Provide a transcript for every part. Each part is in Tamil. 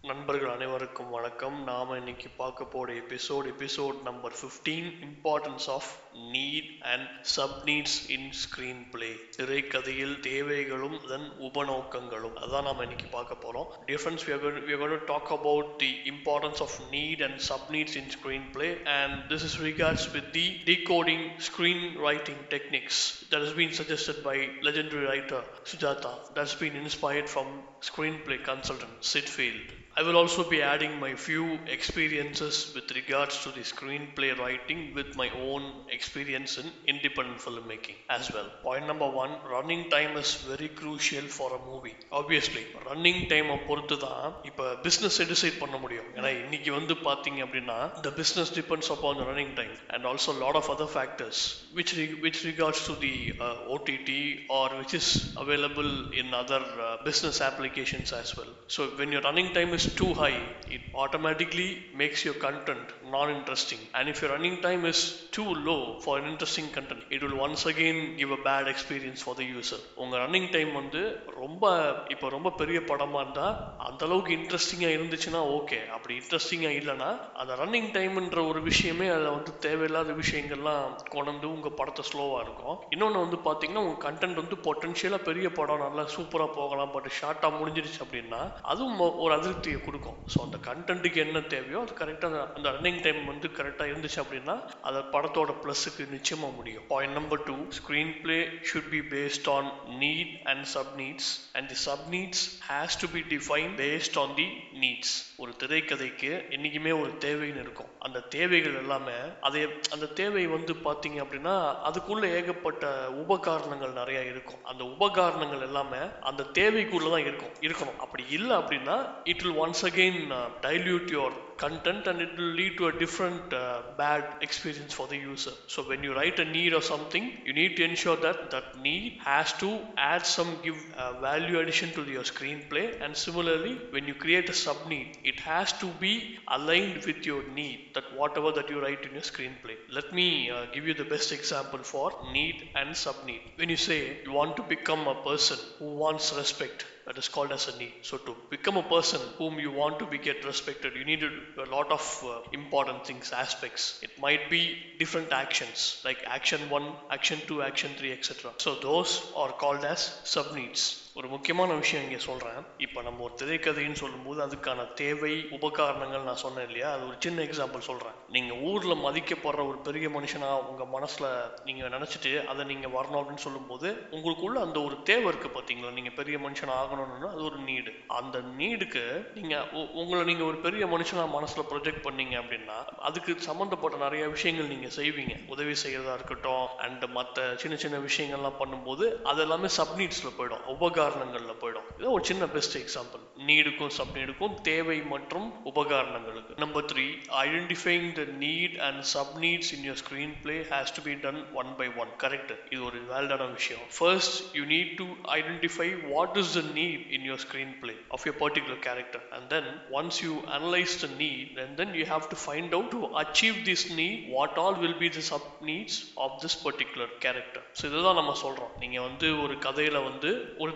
நண்பர்கள் அனைவருக்கும் வணக்கம். நாம இன்னைக்கு பார்க்க போற episode number 15, importance of NEET and sub needs in screen play. திரைக்கதையில் தேவைகளும் அதன் உபநோக்கங்களும், அதான் நாம இன்னைக்கு பார்க்க போறோம். Difference we are going to talk about the importance of need and sub needs in screenplay, and this is regards with the decoding screenwriting techniques that has been suggested by legendary writer Sujata, that's been inspired from screenplay consultant Sid Field. I will also be adding my few experiences with regards to the screenplay writing with my own experience in independent filmmaking as well. Point number 1, running time is very crucial for a movie. Obviously running time பொறுத்து தான் இப்போ business decide பண்ண முடியும். ஏன்னா இன்னைக்கு வந்து பார்த்தீங்க அப்படின்னா the business depends upon the running time and also a lot of other factors which regards to the OTT or which is available in other business applications as well. So when your running time is too high, it automatically makes your content non-interesting, and if your running time is too low for an interesting content, it will once again give a bad experience for the user. உங்க running time வந்து ரொம்ப பெரிய படமா இருந்தா அந்த அளவுக்கு இன்ட்ரெஸ்டிங்கா இருந்துச்சுன்னா ஓகே, அப்படி இன்ட்ரெஸ்டிங்கா இல்லைன்னா அந்த ரன்னிங் டைம்ன்ற ஒரு விஷயமே அதில் வந்து தேவையில்லாத விஷயங்கள்லாம் கொண்டு உங்க படத்தை ஸ்லோவா இருக்கும். இன்னொன்று வந்து பார்த்தீங்கன்னா உங்க கண்டென்ட் வந்து பொட்டன்ஷியலா பெரிய படம் நல்லா சூப்பரா போகலாம், பட் ஷார்ட்டா முடிஞ்சிருச்சு அப்படின்னா அதுவும் ஒரு அதிருப்தியை கொடுக்கும். ஸோ அந்த கண்டென்ட்டுக்கு என்ன தேவையோ அது கரெக்டாக அந்த ரன்னிங் டைம் வந்து கரெக்டாக இருந்துச்சு அப்படின்னா அது படத்தோட ப்ளஸுக்கு நிச்சயமாக முடியும். Point number 2, screen play should be based on NEET and sub needs, and the sub needs has to be define based on the needs. ஒரு திரைக்கதைக்கு என்னைக்குமே ஒரு தேவைன்னு இருக்கும். அந்த தேவைகள் எல்லாமே அந்த தேவை வந்து பார்த்தீங்க அப்படின்னா அதுக்குள்ள ஏகப்பட்ட உபகாரணங்கள் நிறைய இருக்கும். அந்த உபகாரணங்கள் எல்லாமே அந்த தேவைக்குள்ளதான் இருக்கணும். அப்படி இல்லை அப்படின்னா it will once again dilute your content and it will lead to a different bad experience for the user. So when you write a need or something, you need to ensure that need has to add some value addition to your screenplay, and similarly when you create a sub need, it has to be aligned with your need, that whatever that you write in your screenplay. Let me give you the best example for need and sub need. When you say you want to become a person who wants respect, that is called as a need. So to become a person whom you want to get respected, you need a lot of important things, aspects. It might be different actions like action 1, action 2, action 3, etc. So those are called as sub needs. ஒரு முக்கியமான விஷயம் இங்கே சொல்கிறேன். இப்போ நம்ம ஒரு திரைக்கதைன்னு சொல்லும்போது அதுக்கான தேவை உபகாரணங்கள் நான் சொன்னேன் இல்லையா, அது ஒரு சின்ன எக்ஸாம்பிள் சொல்கிறேன். நீங்கள் ஊரில் மதிக்கப்படுற ஒரு பெரிய மனுஷனாக உங்கள் மனசில் நீங்கள் நினச்சிட்டு அதை நீங்கள் வரணும் அப்படின்னு சொல்லும்போது உங்களுக்குள்ள அந்த ஒரு தேவை இருக்குது பார்த்தீங்களா, நீங்கள் பெரிய மனுஷனாக ஆகணும்னு, அது ஒரு நீடு. அந்த நீடுக்கு நீங்கள் ஒரு பெரிய மனுஷனாக மனசில் ப்ரொஜெக்ட் பண்ணீங்க அப்படின்னா அதுக்கு சம்மந்தப்பட்ட நிறைய விஷயங்கள் நீங்கள் செய்வீங்க. உதவி செய்கிறதா இருக்கட்டும் அண்ட் மற்ற சின்ன சின்ன விஷயங்கள்லாம் பண்ணும்போது அது எல்லாமே சப்நீட்ஸில் போயிடும், உபகாரணங்கள்ல போயிடும். இது ஒரு சின்ன பெஸ்ட் எக்ஸாம்பிள், நீடுக்கும் சப் நீடுக்கும் தேவை மற்றும் உபகாரணங்களுக்கு. Number 3, identifying the need and sub needs in your screen play has to be done one by one. Correct, இது ஒரு வேலிடான விஷயம். First you need to identify what is the need in your screen play off your particular character, and then once you analyse the need, and then you have to find out to achieve this need what all will be the sub needs of this particular character. So இதுதான் நம்ம சொல்றோம். நீங்க வந்து ஒரு கதையில வந்து ஒரு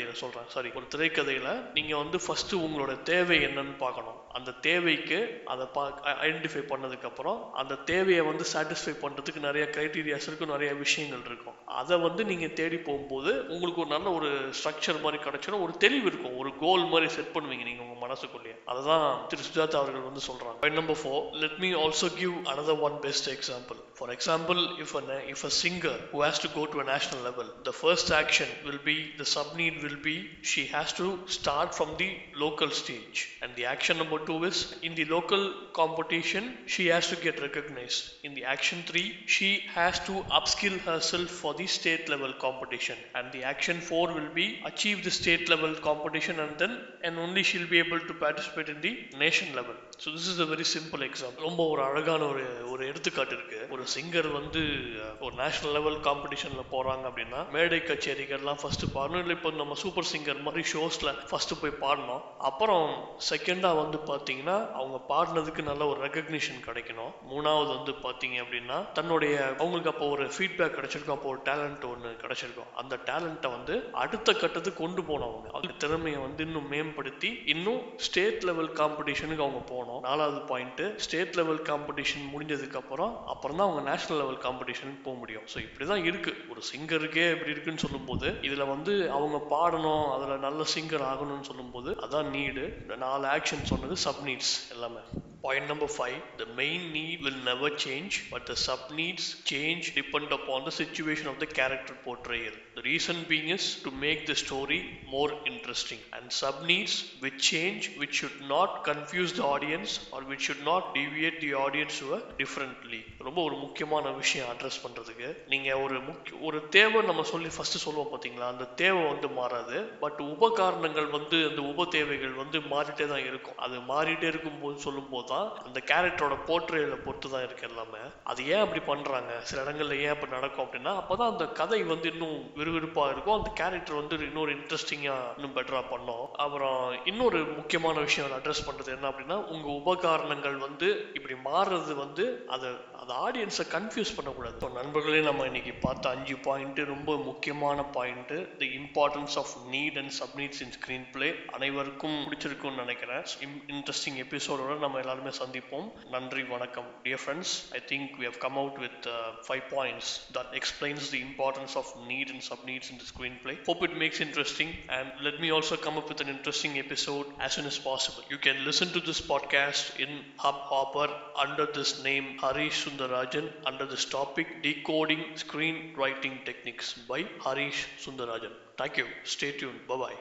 திரைக்கதையில நீங்க வந்து ஃபர்ஸ்ட் உங்களோட தேவை என்னன்னு பார்க்கணும். அந்த தேவைக்கு அதை ஐடென்டிஃபை பண்ணதுக்கு அப்புறம் அந்த தேவையை வந்து சாட்டிஸ்ஃபை பண்றதுக்கு நிறைய கிரைட்டீரியாஸ் இருக்கும், நிறைய விஷயங்கள் இருக்கும். அதை வந்து நீங்க தேடி போகும்போது உங்களுக்கு ஒரு நல்ல ஒரு ஸ்ட்ரக்சர் மாதிரி கிடைச்சிடும், ஒரு தெளிவு இருக்கும், ஒரு கோல் மாதிரி செட் பண்ணுவீங்க நீங்க உங்க மனசுக்குள்ளேயே. அதுதான் திரு சுஜாதா அவர்கள் வந்து சொல்றாங்க. Point number 4, let me also give another one best example. For example, if a singer who has to go to a national level, the first action will be, the sub need will be, she has to start from the local stage, and the action number 2 is, in the local competition she has to get recognized. In the action 3, she has to upskill herself for the state level competition, and the action 4 will be, achieve the state level competition, and only she'll be able to participate in the nation level. So this is a very simple example. ரொம்ப ஒரு அழகான ஒரு எடுத்துக்காட்டு இருக்கு. ஒரு சிங்கர் வந்து ஒரு நேஷனல் லெவல் காம்படிஷன்ல போறாங்க அப்படின்னா மேடை கச்சேரிகள்லாம் ஃபர்ஸ்ட் பண்ணணும். இப்போ இப்போ நம்ம சூப்பர் சிங்கர் மாதிரி ஷோஸ்ல ஃபர்ஸ்ட் போய் பாடணும். அப்புறம் செகண்டா வந்து பாத்தீங்கன்னா அவங்க பாடினதுக்கு நல்ல ஒரு ரெகக்னிஷன் கிடைக்கணும். மூணாவது வந்து பாத்தீங்க அப்படின்னா தன்னுடைய அவங்களுக்கு அப்போ ஒரு ஃபீட்பேக் கிடைச்சிருக்கும், அப்போ ஒரு டேலண்ட் ஒன்று கிடைச்சிருக்கும். அந்த டேலண்ட்டை வந்து அடுத்த கட்டத்துக்கு கொண்டு போனவங்க, அவங்க திறமையை வந்து இன்னும் மேம்படுத்தி இன்னும் ஸ்டேட் லெவல் காம்படிஷனுக்கு அவங்க போனோம். நாலாவது பாயிண்ட், ஸ்டேட் லெவல் காம்படிஷன் முடிஞ்சதுக்கு அப்புறம் தான் அவங்க நேஷனல் லெவல் காம்படிஷனுக்கு போக முடியும். ஸோ இப்படிதான் இருக்கு. ஒரு சிங்கருக்கே இப்படி இருக்குன்னு சொல்லும்போது இதுல வந்து அவங்க பாடணும், அதுல நல்ல சிங்கர் ஆகணும்னு சொல்லும்போது அதான் நீடு. இந்த 4 ஆக்ஷன் சொன்னது சப் நீட்ஸ் எல்லாமே. Point number 5, the main need will never change, but the sub needs change depend upon the situation of the character portrayal. The reason being is to make the story more interesting. And sub needs which change, which should not confuse the audience or which should not deviate the audience to a differently. ரொம்ப ஒரு முக்கியமான விஷயம் அட்ரஸ் பண்றதுக்கு. நீங்க ஒரு தேவை நம்ம சொல்லி ஃபர்ஸ்ட் சொல்லுவோம் பாத்தீங்களா, அந்த தேவை வந்து மாறாது. பட் உபகாரணங்கள் வந்து அந்த உப தேவைகள் வந்து மாறிட்டே தான் இருக்கும். அது மாறிட்டே இருக்கும்போது சொல்லும்போது அந்த கேரக்டரோட போர்ட்ரேல பொறுத்து தான் இருக்கு எல்லாமே. அது ஏன் அப்படி பண்றாங்க, சில இடங்கள்ல ஏன் அப்படி நடக்கும் அப்படின்னா அப்பதான் அந்த கதை வந்து இன்னும் விறுவிறுப்பா இருக்கும், அந்த கேரக்டர் வந்து இன்னொரு இன்ட்ரெஸ்டிங்கா இன்னும் பெட்டரா பண்ணும். அப்புறம் இன்னொரு முக்கியமான விஷயம் அட்ரஸ் பண்றது என்ன அப்படின்னா, உங்க உபகரணங்கள் வந்து இப்படி மாறுறது வந்து அது ஆடியன்ஸை கன்ஃபியூஸ் பண்ணக்கூடாது. ஸோ நண்பர்களே, நம்ம இன்னைக்கு பார்த்த 5 பாயிண்ட் ரொம்ப முக்கியமான point. The importance of NEET and சப்நீட்ஸ் in screen play அனைவருக்கும் பிடிச்சிருக்கும்னு நினைக்கிறேன். இன்ட்ரெஸ்டிங் எபிசோடோட நம்ம எல்லாருமே சந்திப்போம். நன்றி, வணக்கம். Dear friends, I think we have come out with 5 points that explains the importance of need and sub-needs in the screenplay. Hope it makes interesting, and let me also come up with an interesting episode as soon as possible. You can listen to this podcast in Hubhopper under this name Harish Sundarajan under this topic Decoding Screenwriting Techniques by Harish Sundarajan. Thank you. Stay tuned. Bye-bye.